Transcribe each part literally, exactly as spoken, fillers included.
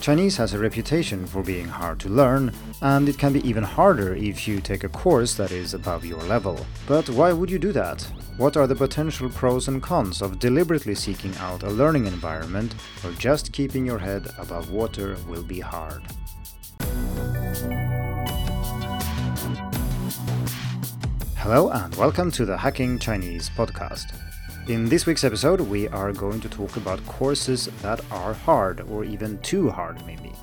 Chinese has a reputation for being hard to learn, and it can be even harder if you take a course that is above your level. But why would you do that? What are the potential pros and cons of deliberately seeking out a learning environment where just keeping your head above water will be hard? Hello and welcome to the Hacking Chinese podcast. In this week's episode, we are going to talk about courses that are hard, or even too hard maybe.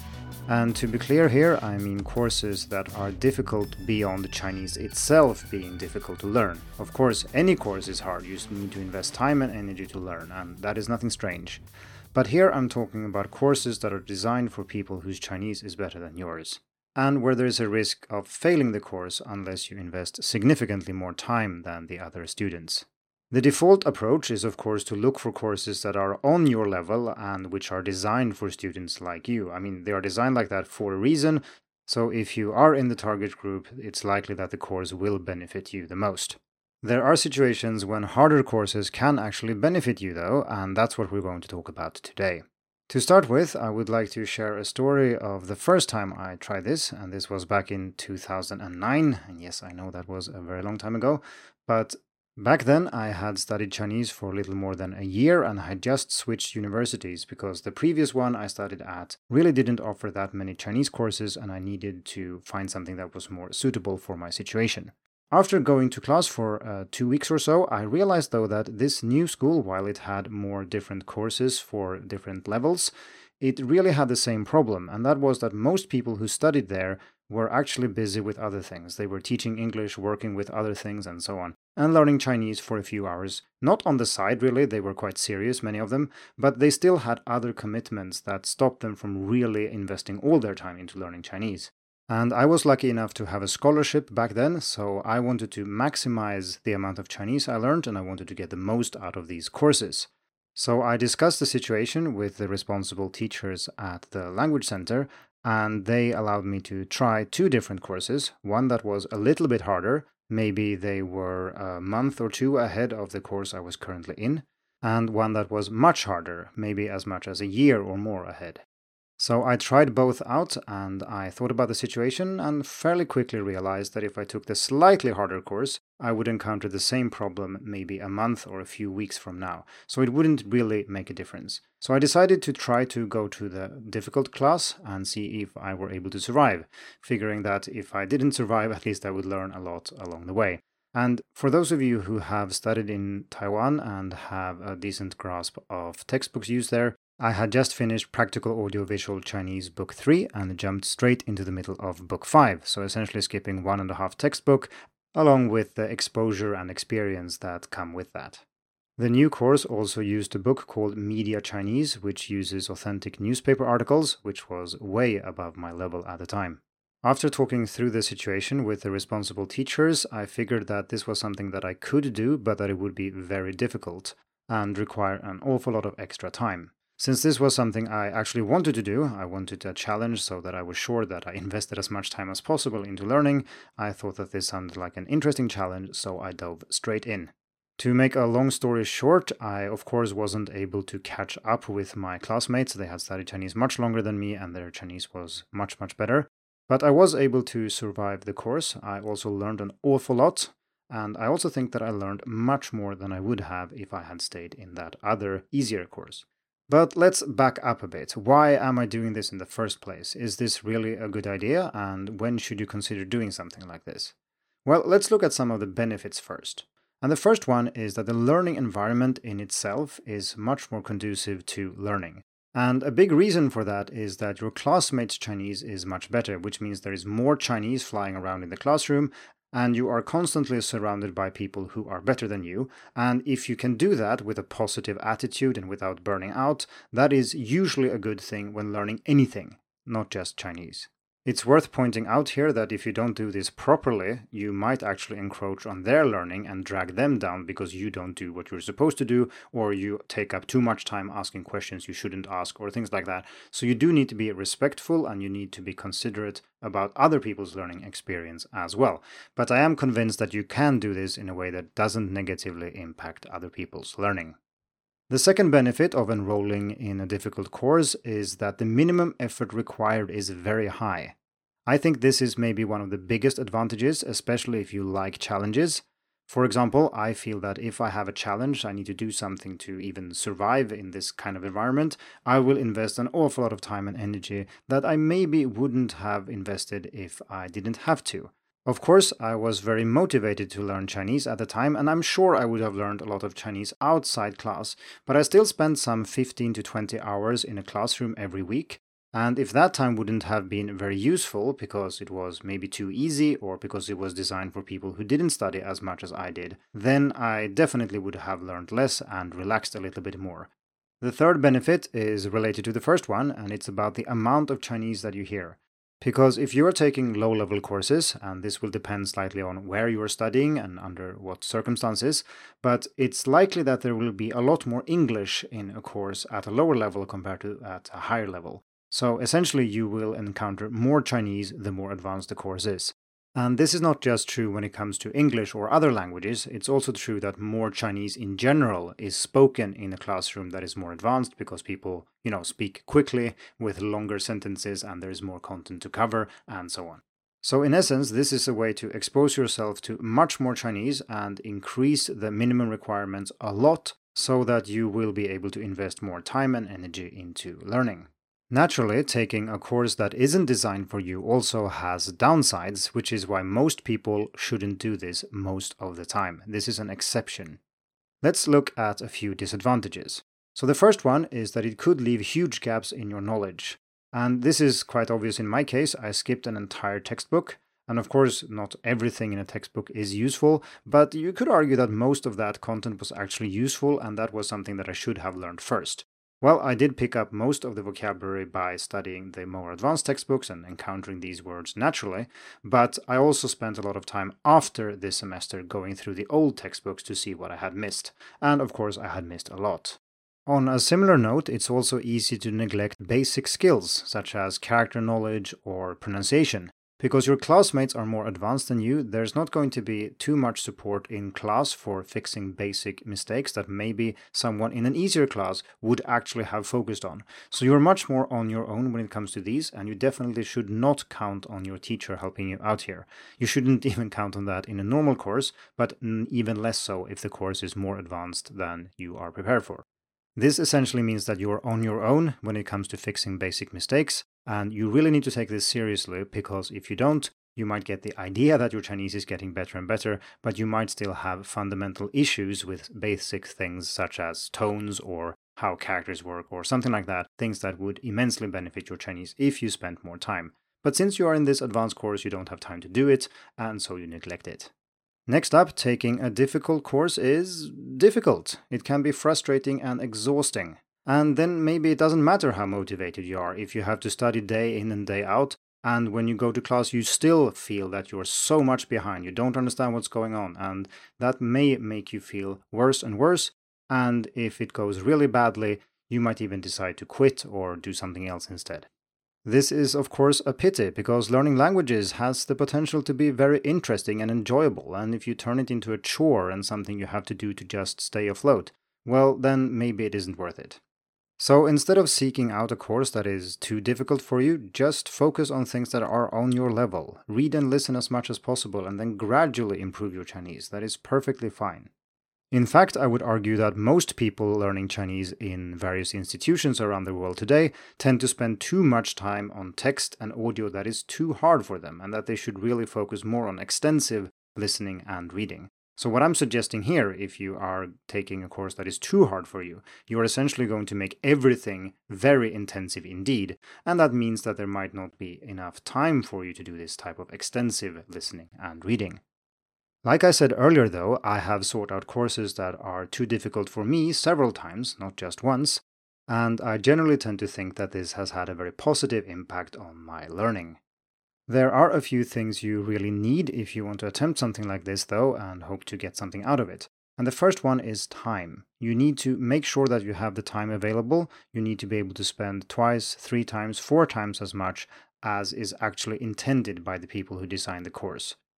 And to be clear here, I mean courses that are difficult beyond Chinese itself being difficult to learn. Of course, any course is hard, you need to invest time and energy to learn, and that is nothing strange. But here I'm talking about courses that are designed for people whose Chinese is better than yours, and where there is a risk of failing the course unless you invest significantly more time than the other students. The default approach is, of course, to look for courses that are on your level and which are designed for students like you. I mean, they are designed like that for a reason, so if you are in the target group, it's likely that the course will benefit you the most. There are situations when harder courses can actually benefit you, though, and that's what we're going to talk about today. To start with, I would like to share a story of the first time I tried this, and this was back in two thousand nine, and yes, I know that was a very long time ago, but back then, I had studied Chinese for a little more than a year and I had just switched universities because the previous one I studied at really didn't offer that many Chinese courses and I needed to find something that was more suitable for my situation. After going to class for uh, two weeks or so, I realized though that this new school, while it had more different courses for different levels, it really had the same problem, and that was that most people who studied there were actually busy with other things. They were teaching English, working with other things, and so on, and learning Chinese for a few hours. Not on the side, really, they were quite serious, many of them, but they still had other commitments that stopped them from really investing all their time into learning Chinese. And I was lucky enough to have a scholarship back then, so I wanted to maximize the amount of Chinese I learned, and I wanted to get the most out of these courses. So I discussed the situation with the responsible teachers at the language center, and they allowed me to try two different courses, one that was a little bit harder, maybe they were a month or two ahead of the course I was currently in, and one that was much harder, maybe as much as a year or more ahead. So I tried both out and I thought about the situation and fairly quickly realized that if I took the slightly harder course, I would encounter the same problem maybe a month or a few weeks from now. So it wouldn't really make a difference. So I decided to try to go to the difficult class and see if I were able to survive, figuring that if I didn't survive, at least I would learn a lot along the way. And for those of you who have studied in Taiwan and have a decent grasp of textbooks used there, I had just finished Practical Audiovisual Chinese Book three and jumped straight into the middle of Book five, so essentially skipping one and a half textbook, along with the exposure and experience that come with that. The new course also used a book called Media Chinese, which uses authentic newspaper articles, which was way above my level at the time. After talking through the situation with the responsible teachers, I figured that this was something that I could do, but that it would be very difficult and require an awful lot of extra time. Since this was something I actually wanted to do, I wanted a challenge so that I was sure that I invested as much time as possible into learning, I thought that this sounded like an interesting challenge, so I dove straight in. To make a long story short, I of course wasn't able to catch up with my classmates. They had studied Chinese much longer than me and their Chinese was much, much better. But I was able to survive the course. I also learned an awful lot, and I also think that I learned much more than I would have if I had stayed in that other, easier course. But let's back up a bit. Why am I doing this in the first place? Is this really a good idea? And when should you consider doing something like this? Well, let's look at some of the benefits first. And the first one is that the learning environment in itself is much more conducive to learning. And a big reason for that is that your classmates' Chinese is much better, which means there is more Chinese flying around in the classroom, and you are constantly surrounded by people who are better than you, and if you can do that with a positive attitude and without burning out, that is usually a good thing when learning anything, not just Chinese. It's worth pointing out here that if you don't do this properly, you might actually encroach on their learning and drag them down because you don't do what you're supposed to do, or you take up too much time asking questions you shouldn't ask, or things like that. So you do need to be respectful and you need to be considerate about other people's learning experience as well. But I am convinced that you can do this in a way that doesn't negatively impact other people's learning. The second benefit of enrolling in a difficult course is that the minimum effort required is very high. I think this is maybe one of the biggest advantages, especially if you like challenges. For example, I feel that if I have a challenge, I need to do something to even survive in this kind of environment, I will invest an awful lot of time and energy that I maybe wouldn't have invested if I didn't have to. Of course, I was very motivated to learn Chinese at the time, and I'm sure I would have learned a lot of Chinese outside class, but I still spent some fifteen to twenty hours in a classroom every week. And if that time wouldn't have been very useful because it was maybe too easy or because it was designed for people who didn't study as much as I did, then I definitely would have learned less and relaxed a little bit more. The third benefit is related to the first one, and it's about the amount of Chinese that you hear. Because if you are taking low-level courses, and this will depend slightly on where you are studying and under what circumstances, but it's likely that there will be a lot more English in a course at a lower level compared to at a higher level. So essentially you will encounter more Chinese the more advanced the course is. And this is not just true when it comes to English or other languages, it's also true that more Chinese in general is spoken in a classroom that is more advanced because people, you know, speak quickly with longer sentences and there is more content to cover and so on. So in essence, this is a way to expose yourself to much more Chinese and increase the minimum requirements a lot so that you will be able to invest more time and energy into learning. Naturally, taking a course that isn't designed for you also has downsides, which is why most people shouldn't do this most of the time. This is an exception. Let's look at a few disadvantages. So the first one is that it could leave huge gaps in your knowledge. And this is quite obvious in my case. I skipped an entire textbook. And of course, not everything in a textbook is useful, but you could argue that most of that content was actually useful and that was something that I should have learned first. Well, I did pick up most of the vocabulary by studying the more advanced textbooks and encountering these words naturally, but I also spent a lot of time after this semester going through the old textbooks to see what I had missed, and of course I had missed a lot. On a similar note, it's also easy to neglect basic skills, such as character knowledge or pronunciation. Because your classmates are more advanced than you, there's not going to be too much support in class for fixing basic mistakes that maybe someone in an easier class would actually have focused on. So you're much more on your own when it comes to these, and you definitely should not count on your teacher helping you out here. You shouldn't even count on that in a normal course, but even less so if the course is more advanced than you are prepared for. This essentially means that you're on your own when it comes to fixing basic mistakes, and you really need to take this seriously because if you don't, you might get the idea that your Chinese is getting better and better, but you might still have fundamental issues with basic things such as tones or how characters work or something like that, things that would immensely benefit your Chinese if you spent more time. But since you are in this advanced course, you don't have time to do it, and so you neglect it. Next up, taking a difficult course is difficult. It can be frustrating and exhausting. And then maybe it doesn't matter how motivated you are if you have to study day in and day out, and when you go to class you still feel that you're so much behind, you don't understand what's going on, and that may make you feel worse and worse, and if it goes really badly, you might even decide to quit or do something else instead. This is, of course, a pity, because learning languages has the potential to be very interesting and enjoyable, and if you turn it into a chore and something you have to do to just stay afloat, well, then maybe it isn't worth it. So instead of seeking out a course that is too difficult for you, just focus on things that are on your level. Read and listen as much as possible, and then gradually improve your Chinese. That is perfectly fine. In fact, I would argue that most people learning Chinese in various institutions around the world today tend to spend too much time on text and audio that is too hard for them, and that they should really focus more on extensive listening and reading. So what I'm suggesting here, if you are taking a course that is too hard for you, you're essentially going to make everything very intensive indeed, and that means that there might not be enough time for you to do this type of extensive listening and reading. Like I said earlier though, I have sought out courses that are too difficult for me several times, not just once, and I generally tend to think that this has had a very positive impact on my learning. There are a few things you really need if you want to attempt something like this though, and hope to get something out of it. And the first one is time. You need to make sure that you have the time available. You need to be able to spend twice, three times, four times as much as is actually intended by the people who design the course.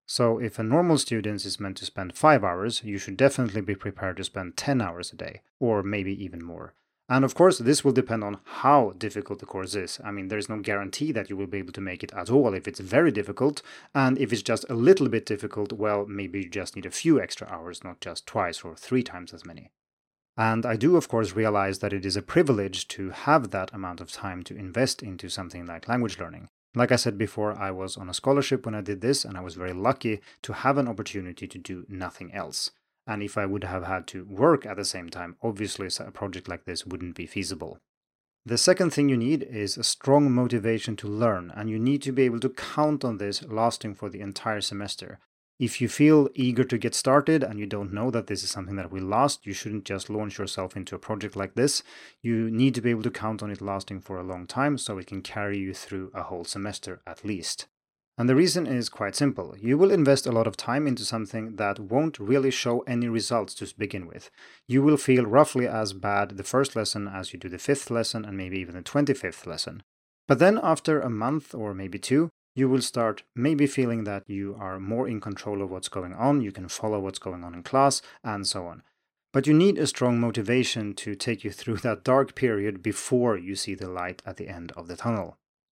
So if a normal student is meant to spend five hours, you should definitely be prepared to spend ten hours a day, or maybe even more. And of course, this will depend on how difficult the course is. I mean, there's no guarantee that you will be able to make it at all if it's very difficult, and if it's just a little bit difficult, well, maybe you just need a few extra hours, not just twice or three times as many. And I do, of course, realize that it is a privilege to have that amount of time to invest into something like language learning. Like I said before, I was on a scholarship when I did this, and I was very lucky to have an opportunity to do nothing else. And if I would have had to work at the same time, obviously a project like this wouldn't be feasible. The second thing you need is a strong motivation to learn, and you need to be able to count on this lasting for the entire semester. If you feel eager to get started and you don't know that this is something that will last, you shouldn't just launch yourself into a project like this. You need to be able to count on it lasting for a long time so it can carry you through a whole semester at least. And the reason is quite simple. You will invest a lot of time into something that won't really show any results to begin with. You will feel roughly as bad the first lesson as you do the fifth lesson and maybe even the twenty-fifth lesson. But then after a month or maybe two, you will start maybe feeling that you are more in control of what's going on, you can follow what's going on in class, and so on. But you need a strong motivation to take you through that dark period before you see the light at the end of the tunnel.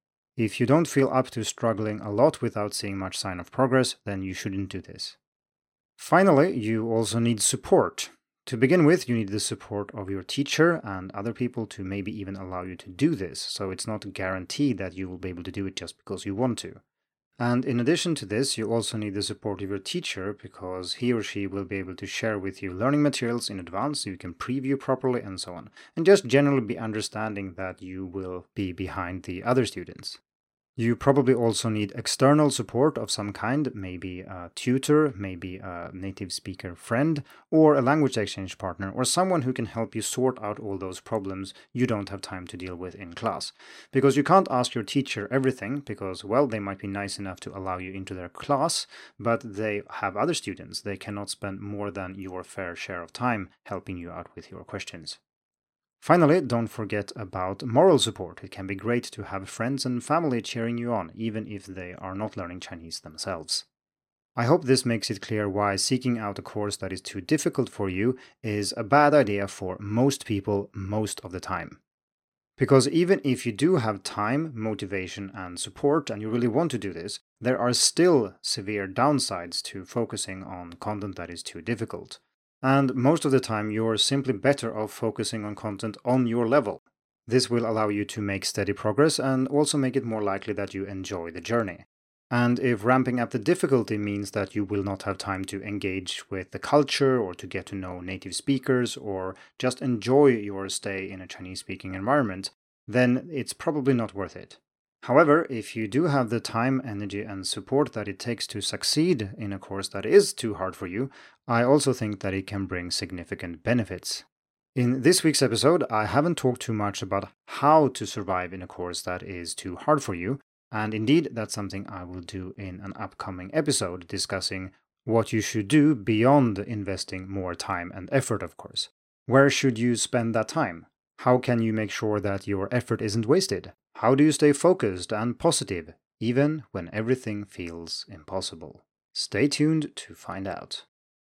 If you don't feel up to struggling a lot without seeing much sign of progress, then you shouldn't do this. Finally, you also need support. To begin with, you need the support of your teacher and other people to maybe even allow you to do this, so it's not guaranteed that you will be able to do it just because you want to. And in addition to this, you also need the support of your teacher because he or she will be able to share with you learning materials in advance so you can preview properly and so on, and just generally be understanding that you will be behind the other students. You probably also need external support of some kind, maybe a tutor, maybe a native speaker friend, or a language exchange partner, or someone who can help you sort out all those problems you don't have time to deal with in class. Because you can't ask your teacher everything, because, well, they might be nice enough to allow you into their class, but they have other students. They cannot spend more than your fair share of time helping you out with your questions. Finally, don't forget about moral support. It can be great to have friends and family cheering you on, even if they are not learning Chinese themselves. I hope this makes it clear why seeking out a course that is too difficult for you is a bad idea for most people most of the time. Because even if you do have time, motivation, and support, and you really want to do this, there are still severe downsides to focusing on content that is too difficult. And most of the time, you're simply better off focusing on content on your level. This will allow you to make steady progress and also make it more likely that you enjoy the journey. And if ramping up the difficulty means that you will not have time to engage with the culture or to get to know native speakers or just enjoy your stay in a Chinese-speaking environment, then it's probably not worth it. However, if you do have the time, energy, and support that it takes to succeed in a course that is too hard for you, I also think that it can bring significant benefits. In this week's episode, I haven't talked too much about how to survive in a course that is too hard for you, and indeed, that's something I will do in an upcoming episode discussing what you should do beyond investing more time and effort, of course. Where should you spend that time? How can you make sure that your effort isn't wasted? How do you stay focused and positive, even when everything feels impossible? Stay tuned to find out.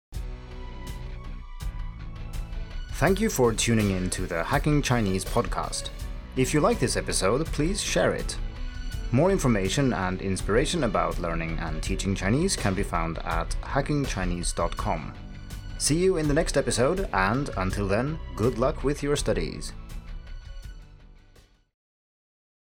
Thank you for tuning in to the Hacking Chinese podcast. If you like this episode, please share it. More information and inspiration about learning and teaching Chinese can be found at hacking chinese dot com. See you in the next episode, and until then, good luck with your studies.